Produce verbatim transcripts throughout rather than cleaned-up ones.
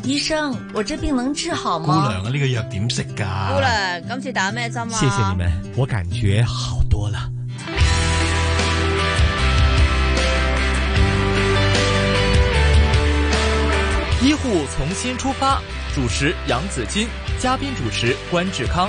醫生，我這病能治好嗎？ 姑娘啊，呢個藥點食㗎？ 姑娘，今次打咩針啊？ 謝謝你們，我感覺好多了。 醫護從新出發，主持楊子矜，嘉賓主持關志康。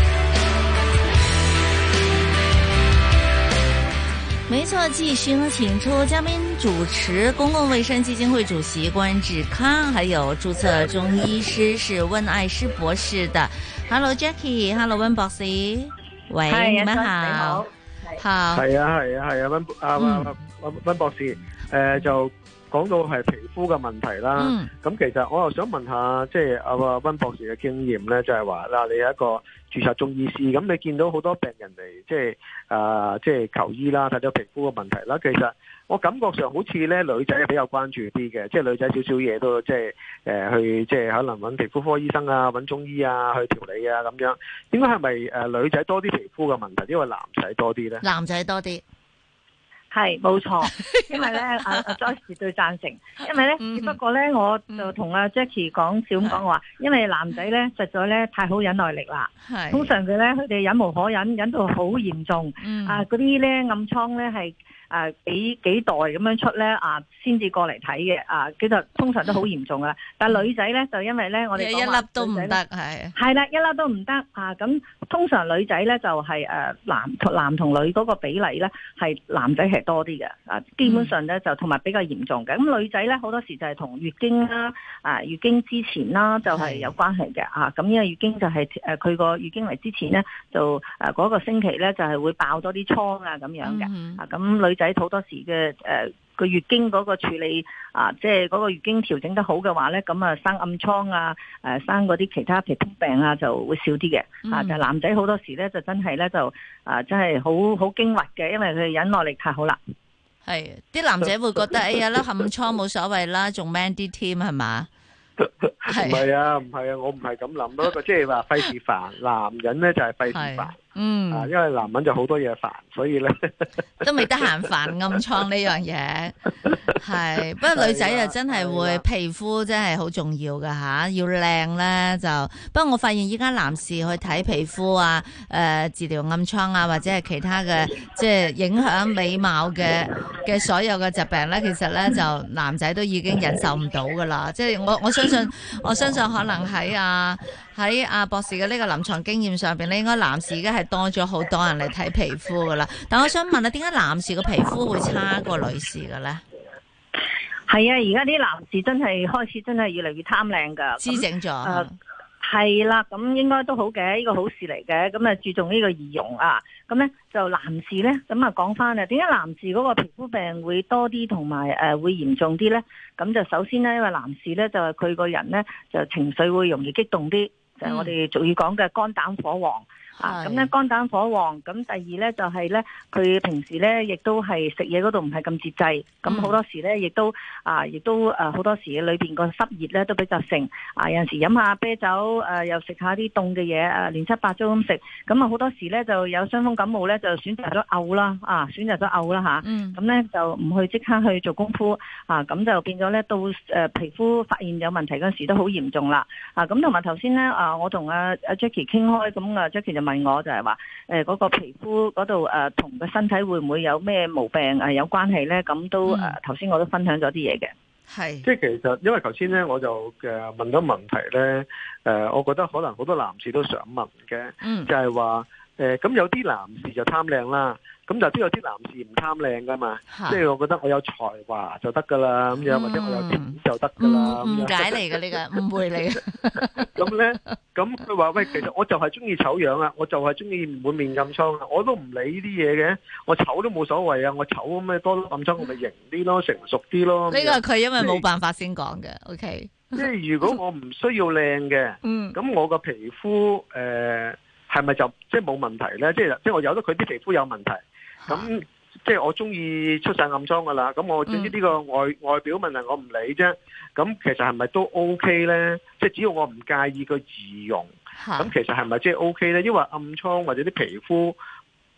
沒錯，繼續呢，請出嘉賓主持公共衛生基金會主席關志康，還有註冊中醫師是溫愛詩博士的。Hello Jackie，Hello 溫博士，喂，你們好，好， 係啊係啊係啊溫啊溫溫博士，誒就講到係皮膚嘅問題啦。咁其實我又想問下，即係阿溫博士嘅經驗咧，就係話嗱，你有一個註冊中醫師，咁你見到好多病人嚟，即係啊，即係求醫啦，睇到皮膚嘅問題啦。其實我感覺上好似咧女仔比較關注啲嘅，即係女仔少少嘢都即係誒去，即係可能揾皮膚科醫生啊，揾中醫啊去調理啊咁樣。應該係咪誒女仔多啲皮膚嘅問題，因為男仔多啲咧？ 男仔多啲。 係冇錯，因為咧阿阿 Joyce 絕對贊成，因為咧只不過咧我就同阿 Jackie 講笑咁講話，因為男仔咧實在咧太好忍耐力啦，通常佢咧佢哋忍無可忍，忍到好嚴重，嗯、啊嗰啲咧暗瘡咧係。誒幾幾代咁樣出咧啊，先至過嚟睇嘅啊，其實通常都好嚴重噶。但係女仔咧就因為咧，我哋一粒都唔得，係係啦，一粒都唔得啊。咁通常女仔咧就係誒男男同女嗰個比例咧係男仔係多啲嘅啊，基本上咧就同埋比較嚴重嘅。咁女仔咧好多時就係同月經啦啊，月經之前啦就係有關係嘅啊。咁因為月經就係誒佢個月經嚟之前咧就誒嗰個星期咧就係會爆多啲瘡啊咁樣嘅啊。咁女仔好多時嘅誒個月經嗰個處理啊，即係嗰個月經調整得好嘅話咧，咁啊生暗瘡啊，誒生嗰啲其他皮膚病啊就會少啲嘅。啊，但係男仔好多時咧就真係咧就啊真係好好驚惑嘅，因為佢忍耐力太好啦。 係啲男仔會覺得哎呀粒暗瘡冇所謂啦，仲 man 啲添係嘛？ 唔係啊，唔係啊，我唔係咁諗，不過即係話費事煩，男人咧就係費事煩。嗯，啊，因為男人就好多嘢煩，所以咧都未得閒煩暗瘡呢樣嘢，係。不過女仔就真係會皮膚真係好重要噶吓，要靚咧就。不過我發現依家男士去睇皮膚啊，誒、呃、治療暗瘡啊，或者係其他嘅即係影響美貌嘅嘅所有嘅疾病咧，其實咧就男仔都已經忍受唔到噶啦。即係我我相信，我相信可能喺啊喺阿博士嘅呢個臨床經驗上邊咧，應該男士而家係多咗好多人嚟睇皮膚噶啦，但我想問下，點解男士個皮膚會差過女士嘅咧？ 係啊，而家啲男士真係開始真係越嚟越貪靚噶， 滋整咗。 係啦，咁應該都好嘅，呢個好事嚟嘅。咁啊注重呢個儀容啊，咁咧就男士咧，咁啊講翻啊，點解男士嗰個皮膚病會多啲同埋誒會嚴重啲咧？咁就首先咧，因為男士咧就係佢個人咧就情緒會容易激動啲，就係我哋俗語講嘅肝膽火旺。啊，咁咧肝膽火旺，咁第二咧就係咧，佢平時咧亦都係食嘢嗰度唔係咁節制，咁好多時咧亦都啊，亦都誒好多時裏邊個濕熱咧都比較盛，啊有陣時飲下啤酒，誒又食下啲凍嘅嘢，誒亂七八糟咁食，咁啊好多時咧就有傷風感冒咧就選擇咗嘔啦，啊選擇咗嘔啦吓，咁咧就唔去即刻去做功夫，啊咁就變咗咧到誒皮膚發現有問題嗰陣時都好嚴重啦，啊咁同埋頭先咧啊我同阿阿 Jackie 傾開，咁啊 Jackie 就問我就係話誒嗰個皮膚嗰度誒同個身體會唔會有咩毛病誒有關係咧？咁都誒頭先我都分享咗啲嘢嘅， 係即係其實因為頭先咧我就誒問咗問題咧誒，我覺得可能好多男士都想問嘅，嗯、就係話誒咁有啲男士就貪靚啦。咁就都有啲男士唔貪靚噶嘛，即係我覺得我有才華就得噶啦，咁樣、嗯、或者我有錢就得噶啦， 誤解嚟嘅呢個誤會嚟嘅。 咁咧，咁佢話喂，其實我就係中意醜樣啊，我就係中意滿面暗瘡啊，我都唔理呢啲嘢嘅，我醜都冇所謂啊，我醜咁咩多暗瘡我咪型啲咯，成熟啲咯。呢個係佢因為冇辦法先講嘅 ，OK。 即係如果我唔需要靚嘅，咁、嗯、我個皮膚誒係咪就即係冇問題咧？即係即係我由得佢啲皮膚有問題。咁即係我中意出晒暗瘡噶啦，咁我總之呢個外、嗯、外表問題我唔理啫。咁其實係咪都 OK 咧？即係只要我唔介意個儀容，咁其實係咪即係 OK 咧？因為暗瘡或者啲皮膚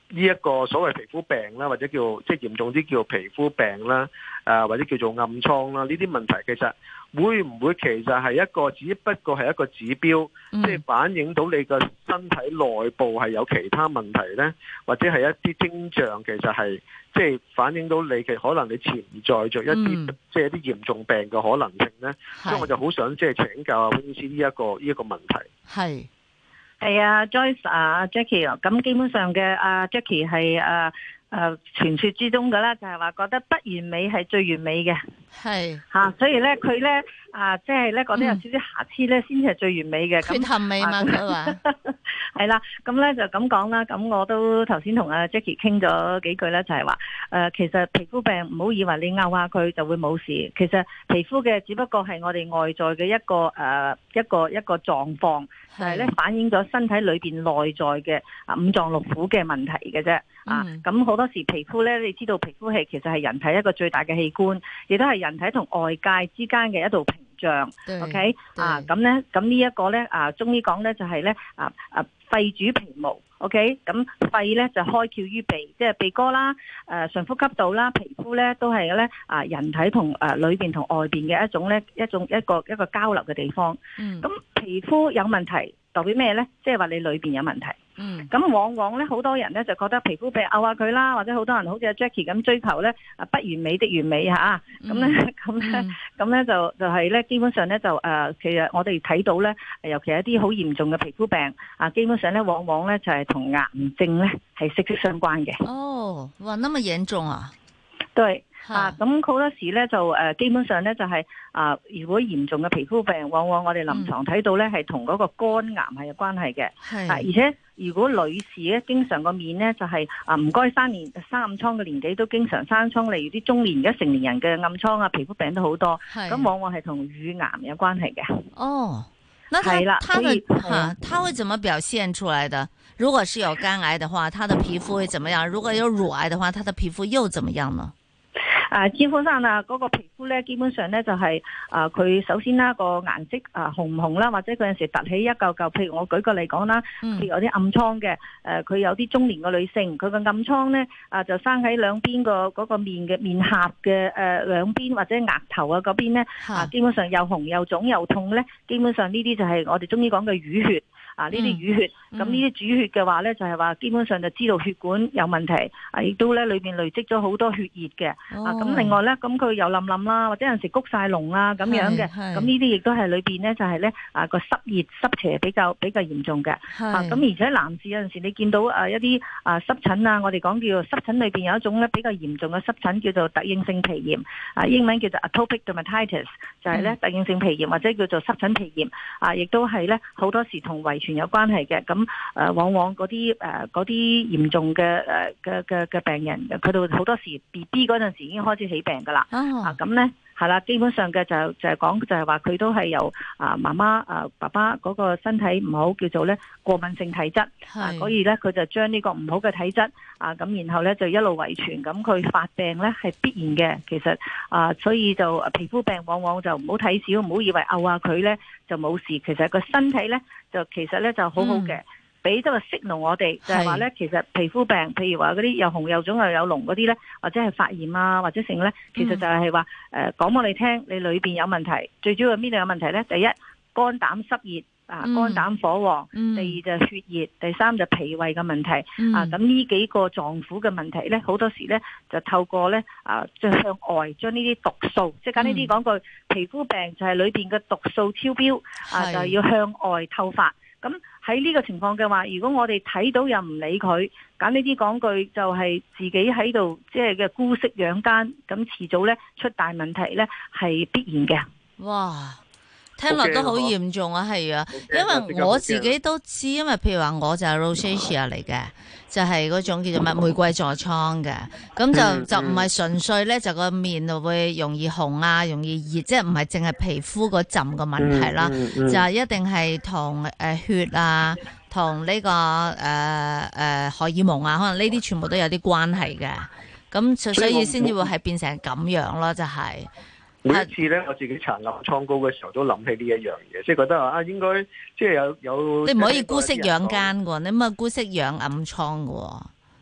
呢一個所謂皮膚病啦，或者叫即係嚴重啲叫皮膚病啦，誒、呃、或者叫做暗瘡啦，呢啲問題其實會唔會其實係一個只不過係一個指標，即係、嗯、反映到你個身體內部係有其他問題呢？或者係一啲徵象其實係即係反映到你嘅可能你潛在着一啲、嗯、即係一啲嚴重病嘅可能性呢？是所以我就好想即係請教阿溫醫師呢一個呢一個問題。 係。 係啊 Joyce 啊 Jackie 啊，咁基本上嘅阿 Jackie 係誒誒傳說之中嘅啦，就係話覺得不完美係最完美嘅，係吓，所以咧佢咧啊，即係咧覺得有少少瑕疵咧，先至係最完美嘅。缺陷美嘛，佢話係啦，咁咧就咁講啦。咁我都頭先同阿 Jackie 傾咗幾句咧，就係話誒，其實皮膚病唔好以為你拗下佢就會冇事，其實皮膚嘅只不過係我哋外在嘅一個誒一個一個狀況，就係咧反映咗身體裏邊內在嘅啊五臟六腑嘅問題嘅啫。啊，咁好多時皮膚咧，你知道皮膚係其實係人體一個最大嘅器官，亦都係人體同外界之間嘅一道屏障。對 OK， 對啊，咁咧，咁呢一個咧，啊，中醫講咧就係咧，啊啊，肺主皮毛。OK， 咁肺咧就開竅於鼻，即係鼻哥啦，誒、呃、上呼吸道啦，皮膚咧都係咧啊，人體同誒裏邊同外邊嘅一種咧一種一個一個交流嘅地方。嗯，咁皮膚有問題代表咩咧？即係話你裏邊有問題。嗯，咁往往咧好多人咧就覺得皮膚病拗下佢啦，或者好多人好似阿 Jackie 咁追求咧啊不完美的完美吓，咁咧咁咧咁咧就就係咧基本上咧就誒、呃、其實我哋睇到咧，尤其係一啲好嚴重嘅皮膚病啊，基本上咧往往咧就係同癌症咧係息息相關嘅。哦，哇，那麼嚴重啊？對。啊，咁好多時咧就誒，基本上咧就係、是、啊，如果嚴重嘅皮膚病，往往我哋臨床睇到咧係同嗰個肝癌係有關係嘅。係、嗯，啊，而且如果女士咧經常個面咧就係、是、啊唔該生年生暗瘡嘅年紀都經常生瘡，例如啲中年而家成年人嘅暗瘡啊，皮膚病都好多。係，咁往往係同乳癌有關係嘅。哦，那他係啦，他的哈，他會怎麼表現出來的？如果是有肝癌的話，他的皮膚會怎麼樣？如果有乳癌的話，他的皮膚又怎麼樣呢？啊，招呼生啊，嗰個皮膚咧，基本上咧就係、是、啊，佢首先啦個顏色啊紅唔紅啦，或者嗰陣時凸起一嚿嚿，譬如我舉個例講啦，譬如有啲暗瘡嘅，誒、呃、佢有啲中年嘅女性，佢個暗瘡咧啊就生喺兩邊個嗰個面嘅面頰嘅誒兩邊或者額頭啊嗰邊咧啊，基本上又紅又腫又痛咧，基本上呢啲就係我哋中醫講嘅淤血。啊！呢啲淤血，咁呢啲主血嘅話咧，就係、是、話基本上就知道血管有問題，啊，亦都咧裏邊累積咗好多血液嘅。哦、啊，咁另外咧，咁佢又冧冧啦，或者有陣時谷晒膿啊咁樣嘅。咁呢啲亦都係裏邊咧，就係咧啊個濕熱濕邪比較比較嚴重嘅。係。啊，咁而且男士有陣時你見到啊一啲啊濕疹啊，我哋講叫做濕疹裏邊有一種咧比較嚴重嘅濕疹叫做突應性皮炎，啊英文叫做 atopic dermatitis，就係咧突應性皮炎或者叫做濕疹皮炎。啊，亦都係咧好多時同遺全有關係嘅，咁誒、呃、往往嗰啲誒嗰啲嚴重嘅誒嘅嘅嘅病人，佢哋好多時 B B 嗰陣時已經開始起病噶啦。哦、啊，咁咧係啦，基本上嘅就就係講就係話佢都係由啊媽媽啊爸爸嗰個身體唔好，叫做咧過敏性體質，是啊，所以咧佢就將呢個唔好嘅體質啊，咁然後咧就一路遺傳，咁佢發病咧係必然嘅。其實啊，所以就皮膚病往往就唔好睇小，唔好以為拗下佢咧就冇事，其實個身體咧就其實咧就好好嘅，俾咗個 signal我哋，就係話咧其實皮膚病，譬如話嗰啲又紅又腫又有膿嗰啲咧，或者係發炎啊或者成咧，其實就係話誒講俾你聽，你裏邊有問題，最主要係邊度有問題咧？第一肝膽濕熱。啊，肝膽火旺，嗯、第二就血熱，第三就脾胃嘅問題。嗯、啊，咁呢幾個臟腑嘅問題咧，好多時咧就透過咧啊，即係向外將呢啲毒素，即係簡單啲講句，皮膚病就係裏邊嘅毒素超標，是啊，就係要向外透發。咁喺呢個情況嘅話，如果我哋睇到又唔理佢，簡單啲講句，就係自己喺度即係嘅姑息養奸，咁遲早咧出大問題咧係必然嘅。哇！聽落都好嚴重啊，係啊，因為我自己都知，因為譬如話我就係 rosacea 嚟嘅，就係嗰種叫做乜玫瑰痤瘡嘅，咁就就唔係純粹咧，就個面就會容易紅啊，容易熱，即係唔係淨係皮膚嗰陣嘅問題啦，就一定係同誒血啊，同呢個誒誒荷爾蒙啊，可能呢啲全部都有啲關係嘅，咁所以先至會係變成咁樣咯，就係。每一次咧，我自己搽暗瘡膏嘅時候，都諗起呢一樣嘢，即係覺得話啊，應該即係有有。你唔可以姑息養奸嘅，你唔可以姑息養暗瘡嘅。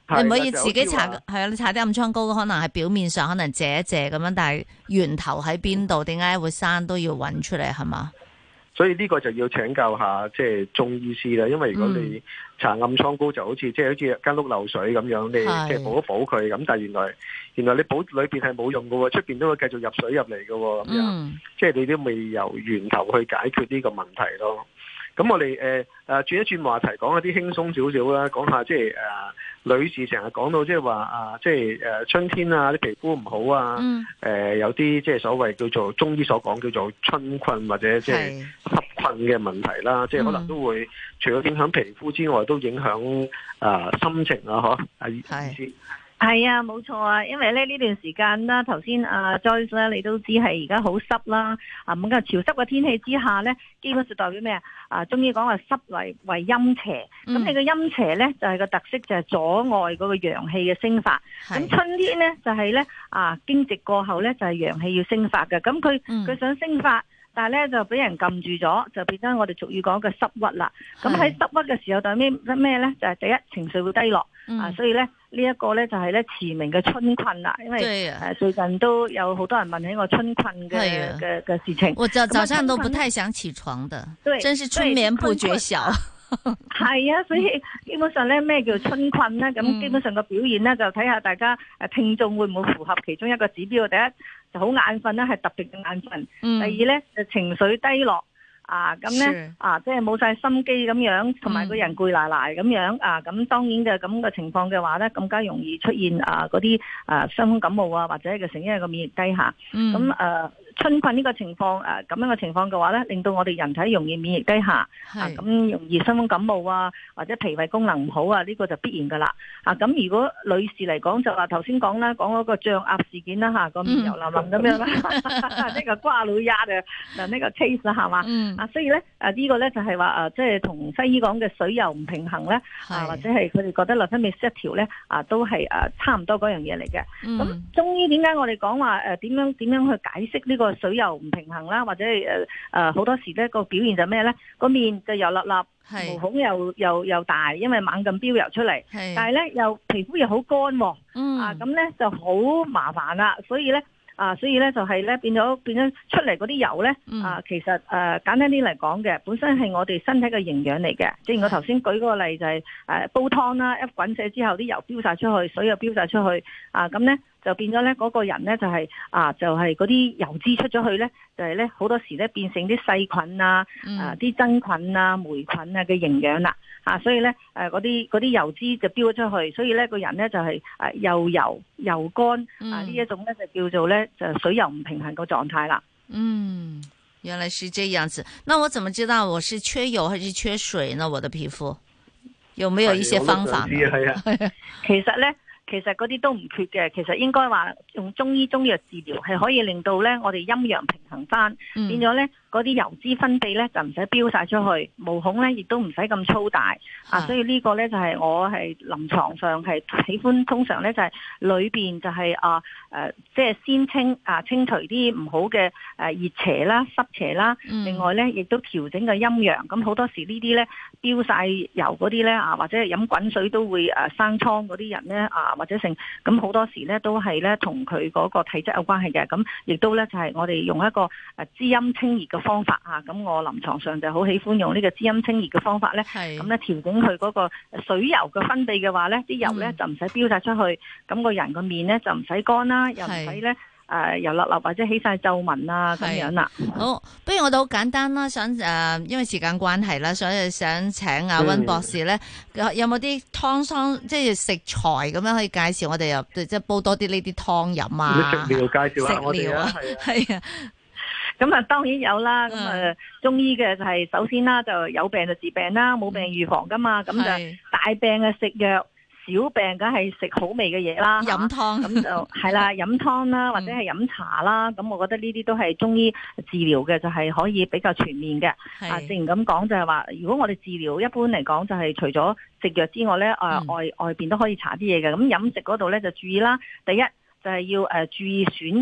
你唔可以自己搽，係啊，你搽啲暗瘡膏，可能係表面上可能借一借咁樣，但係源頭喺邊度，點解會生都要揾出嚟，係嘛？ 所以呢個就要請教下即係中醫師啦，因為如果你搽暗瘡膏就好似即係好似間屋漏水咁樣，你即係補一補佢，咁但係原來原來你補裏邊係冇用㗎喎，出邊都會繼續入水入嚟㗎喎，咁樣、嗯、即係你都未由源頭去解決呢個問題咯。咁我哋誒誒轉一轉話題，講一啲輕鬆少少啦，講下即係誒、呃、女士成日講到即係話啊，即係誒、呃、春天啊啲皮膚唔好啊，誒、嗯呃、有啲即係所謂叫做中醫所講叫做春困或者即係濕困嘅問題啦，即係可能都會除咗影響皮膚之外，都影響啊、呃、心情啊，嗬啊意思。 係啊，冇錯啊，因為咧呢段時間啦，頭先阿 Joyce 咧，你都知係而家好濕啦，啊咁嘅潮濕嘅天氣之下咧，基本上代表咩啊？啊，中醫講話濕為為陰邪，咁、嗯、你個陰邪咧就係、是、個特色就係阻礙嗰個陽氣嘅升發。咁春天咧就係、是、咧啊驚蟄過後咧就係、是、陽氣要升發嘅，咁佢佢想升發。但係咧就俾人撳住咗，就變咗我哋俗語講嘅濕鬱啦。咁喺濕鬱嘅時候，代咩咩咧？就係、是、第一情緒會低落、嗯、啊，所以咧呢一、這個咧就係咧馳名嘅春困啦。因為誒、啊、最近都有好多人問起我春困嘅嘅嘅事情。我早早上都不太想起床的，對，真是春眠不覺曉。係啊，所以基本上咧咩叫春困咧？咁基本上個表現咧就睇下大家誒聽眾會唔會符合其中一個指標。第一就好眼瞓啦，係特別嘅眼瞓、嗯。第二咧就情緒低落啊，咁咧啊即係冇晒心機咁樣，同埋個人攰賴賴咁樣啊。咁當然嘅咁嘅情況嘅話咧，更加容易出現啊嗰啲啊傷風感冒啊，或者嘅成因係個免疫低下。咁、嗯、誒。啊春困呢個情況誒咁樣嘅情況嘅話咧，令到我哋人體容易免疫低下，啊咁容易傷風感冒啊，或者脾胃功能唔好啊，呢、這個就必然噶啦。啊咁如果女士嚟講就話頭先講啦，講嗰個脹鴨事件啦吓，個面油淋淋咁樣啦，呢、嗯、個瓜老鴨嘅嗱呢個 case 啦係嘛，啊所以咧誒呢個咧就係話誒即係同西醫講嘅水油唔平衡咧，啊或者係佢哋覺得內分泌失調咧，啊都係誒差唔多嗰樣嘢嚟嘅。咁、嗯、中醫點解我哋講話誒點樣點樣去解釋呢、這個？個水油唔平衡啦，或者係誒誒好多時咧個表現就咩咧？個面就油粒粒，毛孔又又又大，因為猛咁飆油出嚟。但係咧又皮膚又好乾，嗯、啊咁咧就好麻煩啦。所以咧啊，所以咧就係咧變咗變咗出嚟嗰啲油咧、嗯、啊，其實誒、呃、簡單啲嚟講嘅，本身係我哋身體嘅營養嚟嘅。正如我頭先舉嗰個例就係、是、誒、呃、煲湯啦，一滾瀉之後啲油飆晒出去，水又飆晒出去，啊咁咧。就變咗咧，嗰個人咧就係、是、啊，就係嗰啲油脂出咗去咧，就係咧好多時咧變成啲細菌啊、嗯、啊啲真菌啊、霉菌啊嘅營養啦，啊，所以咧誒嗰啲嗰啲油脂就飆咗出去，所以咧個人咧就係、是、誒又油又乾、嗯、啊呢一種咧就叫做咧就水油唔平衡個狀態啦。嗯， 原來是這樣子。那我怎麼知道我是缺油還是缺水呢？我的皮膚有沒有一些方法呢？ 係啊， 其實咧。其實嗰啲都唔缺嘅，其實應該話用中醫中藥治療係可以令到咧我哋陰陽平衡翻、嗯，變咗咧嗰啲油脂分泌咧就唔使飆晒出去，毛孔咧亦都唔使咁粗大啊，所以呢個咧就係我係臨床上係喜歡，通常咧就係裏邊就係啊誒即係先清啊清除啲唔好嘅誒熱邪啦濕邪啦、嗯，另外咧亦都調整個陰陽，咁好多時呢啲咧飆晒油嗰啲咧啊或者係飲滾水都會誒生瘡嗰啲人咧啊。或者性咁好多時咧都係咧同佢嗰個體質有關係嘅，咁亦都咧就係我哋用一個誒滋陰清熱嘅方法啊，咁我臨床上就好喜歡用呢個滋陰清熱嘅方法咧，咁咧調整佢嗰個水油嘅分泌嘅話咧，啲油咧就唔使飆晒出去，咁個人個面咧就唔使乾啦，又唔使咧。誒油粒粒或者起晒皺紋啊咁樣啦。 好，不如我哋好簡單啦，想誒、呃，因為時間關係啦，所以想請阿溫博士咧、嗯，有冇啲湯湯即係食材咁樣可以介紹我哋又即係煲多啲呢啲湯飲啊？ 食療介紹下我哋啊， 係啊。 咁啊，當然有啦。咁、嗯、誒，中醫嘅就係首先啦，就有病就治病啦，冇病預防噶嘛。咁、嗯、就大病嘅食藥。小病梗係食好味嘅嘢啦， 飲湯咁就係啦，飲湯啦，或者係飲茶啦，咁、嗯、我覺得呢啲都係中醫治療嘅，就係、是、可以比較全面嘅。啊，正如咁講就係話，如果我哋治療一般嚟講，就係除咗食藥之外咧，誒、嗯、外外邊都可以搽啲嘢嘅。咁飲食嗰度咧就注意啦，第一就係要誒注意選擇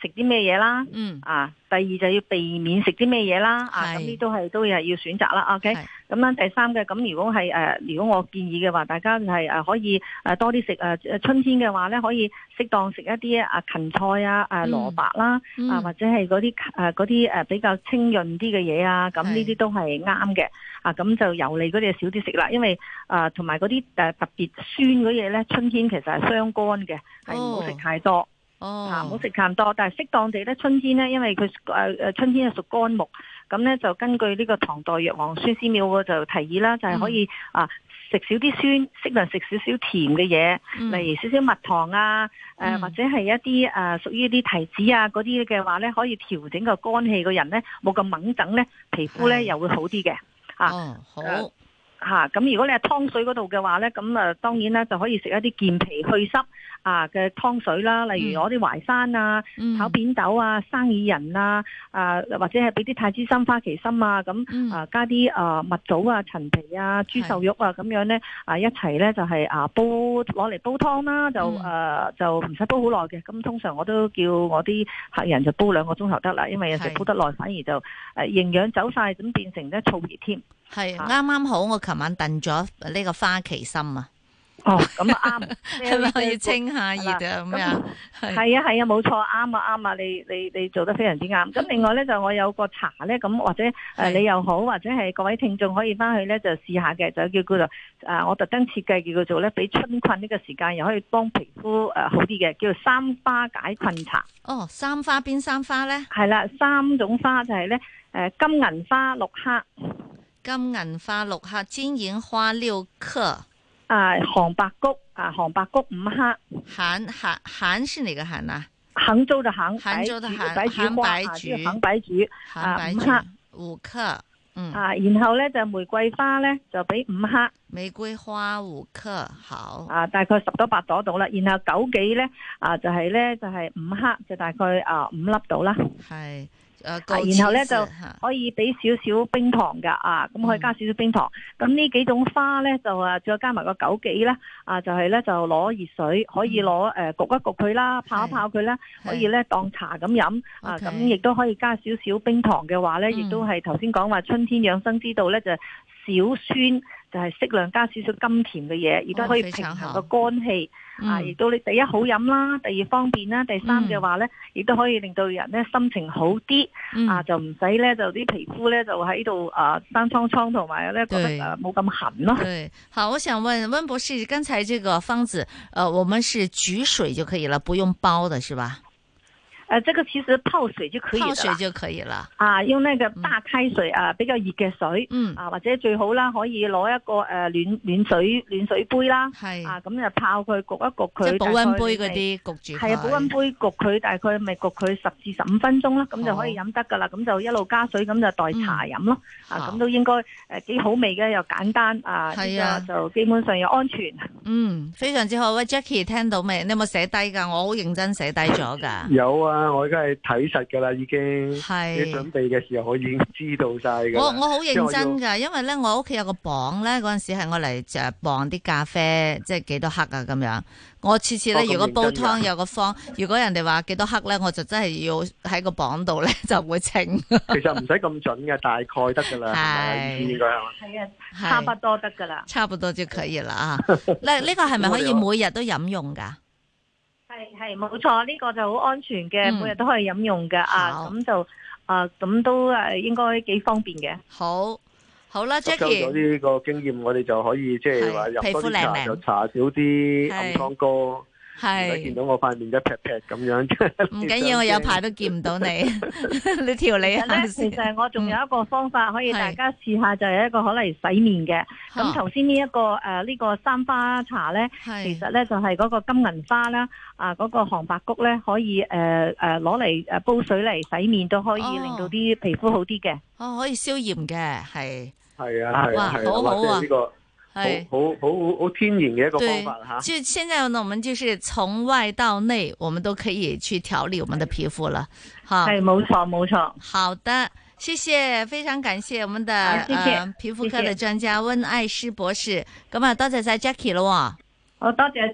食啲咩嘢啦， 嗯啊，第二就要避免食啲咩嘢啦，啊，咁呢都係都係要選擇啦。OK，咁樣第三嘅，咁如果係誒、呃，如果我建議嘅話，大家係誒可以誒多啲食誒春天嘅話咧，可以適當食一啲啊芹菜啊、誒蘿蔔啦， 嗯、 啊或者係嗰啲誒嗰啲誒比較清潤啲嘅嘢啊，咁呢啲都係啱嘅。啊，咁就油膩嗰啲少啲食啦，因為誒同埋嗰啲誒特別酸嗰嘢咧，春天其實係傷肝嘅，係唔好食太多。 哦， 嚇唔好食咁多，但係適當地咧，春天咧，因為佢誒誒春天係屬肝木，咁咧就根據呢個唐代藥王孫思邈嘅就提議啦，就係、是、可以、嗯、啊食少啲酸，適量食少少甜嘅嘢， 嗯、例如少少蜜糖啊，誒、呃嗯、或者係一啲誒、呃、屬於一啲提子啊嗰啲嘅話咧，可以調整個肝氣嘅人咧，冇咁猛整咧，皮膚咧又會好啲嘅。啊， 哦，好。 呃吓，咁、啊、如果你係湯水嗰度嘅話咧，咁啊當然咧就可以食一啲健脾去濕啊嘅湯水啦，例如攞啲淮山啊、嗯、炒扁豆啊、生薏仁啊，啊或者係俾啲太子參、花旗參啊，咁、嗯、啊加啲啊蜜棗啊、陳皮啊、豬瘦肉啊咁樣咧啊一齊咧就係啊煲攞嚟煲湯啦，就誒、嗯啊、就唔使煲好耐嘅，咁通常我都叫我啲客人就煲兩個鐘頭得啦，因為有時煲得耐反而就誒營養走晒，咁變成咧燥熱添。 係啱啱好，我琴晚燉咗呢個花旗參啊！ 哦，咁啊啱， 係咪可以清下熱啊？咁樣係啊係啊，冇錯，啱啊啱啊，你你你做得非常之啱。咁另外咧就我有個茶咧，咁或者誒你又好，或者係各位聽眾可以翻去咧就試下嘅，就叫叫做誒我特登設計叫做咧，俾春困呢個時間又可以幫皮膚誒好啲嘅，叫做三花解困茶。 哦，三花邊三花咧？ 係啦，三種花就係咧誒金銀花六克。 金銀花六克，金銀花六克， 啊，杭白菊啊，杭白菊五克， 杭杭杭是哪個杭啊？ 杭州的杭， 杭州的杭， 白菊花啊，杭白菊啊，五克， 五克，嗯啊，然後咧就玫瑰花咧就俾五克， 玫瑰花五克，好啊，大概十朵八朵到啦。然後枸杞咧啊，就係咧就係五克，就大概啊五粒到啦。 係。 啊、然後咧就可以俾少少冰糖噶啊，咁可以加少少冰糖。咁、嗯、呢幾種花咧就啊，再加埋個枸杞啦，啊就係、是、咧就攞熱水，可以攞誒、呃、焗一焗佢啦，泡一泡佢啦，可以咧當茶咁飲啊。咁亦都可以加少少冰糖嘅話咧，亦、嗯、都係頭先講話春天養生之道咧，就少酸。就係適量加少少甘甜嘅嘢，亦都可以平衡個肝氣、哦、啊！亦都你第一好飲啦，第二方便啦，第三嘅話咧，亦、嗯、都可以令到人咧心情好啲、嗯、啊！就唔使咧就啲皮膚咧就喺度啊生瘡瘡，同埋咧覺得誒冇咁痕咯。 對，好，我想問溫博士，剛才這個方子，呃，我們是煮水就可以了，不用煲的是吧？ 誒、呃，這個其實泡水就可以了， 泡水就可以了。 啊，用那個大開水、嗯、啊，比較熱嘅水，嗯，啊或者最好啦，可以攞一個誒、呃、暖暖水暖水杯啦，係啊，咁就泡佢焗一焗佢，即係保溫杯嗰啲焗住，係啊，保溫杯焗佢大概咪焗佢十至十五分鐘啦，咁就可以飲得噶啦，咁就一路加水咁就代茶飲咯，嗯、啊咁都應該誒幾好味嘅，又簡單啊，係啊，就基本上又安全。 嗯，非常之好。喂 Jackie 聽到未？你有冇寫低噶？我好認真寫低咗噶。 有啊。我而家係睇實噶啦，已經係你準備嘅時候，我已經知道晒噶。 我我好認真噶，因為咧我屋企有個磅咧，嗰陣時係我嚟就磅啲咖啡，即係幾多克啊咁樣。我次次咧、哦、如果煲湯有個方，如果人哋話幾多克咧，我就真係要喺個磅度咧就會稱。 其實唔使咁準嘅，大概得噶啦，係應該係嘛？ 係啊，差不多得噶啦， 差不多就可以啦啊！呢呢個係咪可以每日都飲用噶？ 係係冇錯，呢、這個就好安全嘅、嗯，每日都可以飲用嘅啊，咁就啊咁都誒應該幾方便嘅。好，好啦 ，Jackie， 咗呢個經驗，我哋就可以即係話入多啲茶，就搽少啲暗瘡哥。係見到我塊面一劈劈咁樣， 唔緊要，我有排都見唔到你，你調理下先。 其實我仲有一個方法可以大家試下，就係一個可能洗面嘅。咁頭先呢一個誒呢、呃這個三花茶咧，其實咧就係、是、嗰個金銀花啦，啊嗰、那個杭白菊咧可以誒誒攞嚟誒煲水嚟洗面，都可以令到啲皮膚好啲嘅。 哦，可以消炎嘅，係係啊係啊係啊， 好好啊。 好好好好天然嘅一個方法吓， 就現在呢，我們就是從外到內，我們都可以去調理我們的皮膚了。好， 係冇錯冇錯。 好的，謝謝，非常感謝我們的誒、呃、皮膚科的專家溫愛詩博士。咁啊，多謝晒 Jackie 咯。 好多謝再。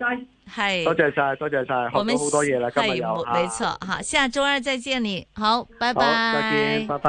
係多謝晒，多謝晒，學到好多嘢啦，今日有， 冇錯，好，下周二再見你，好，拜拜， 好，再見，拜拜。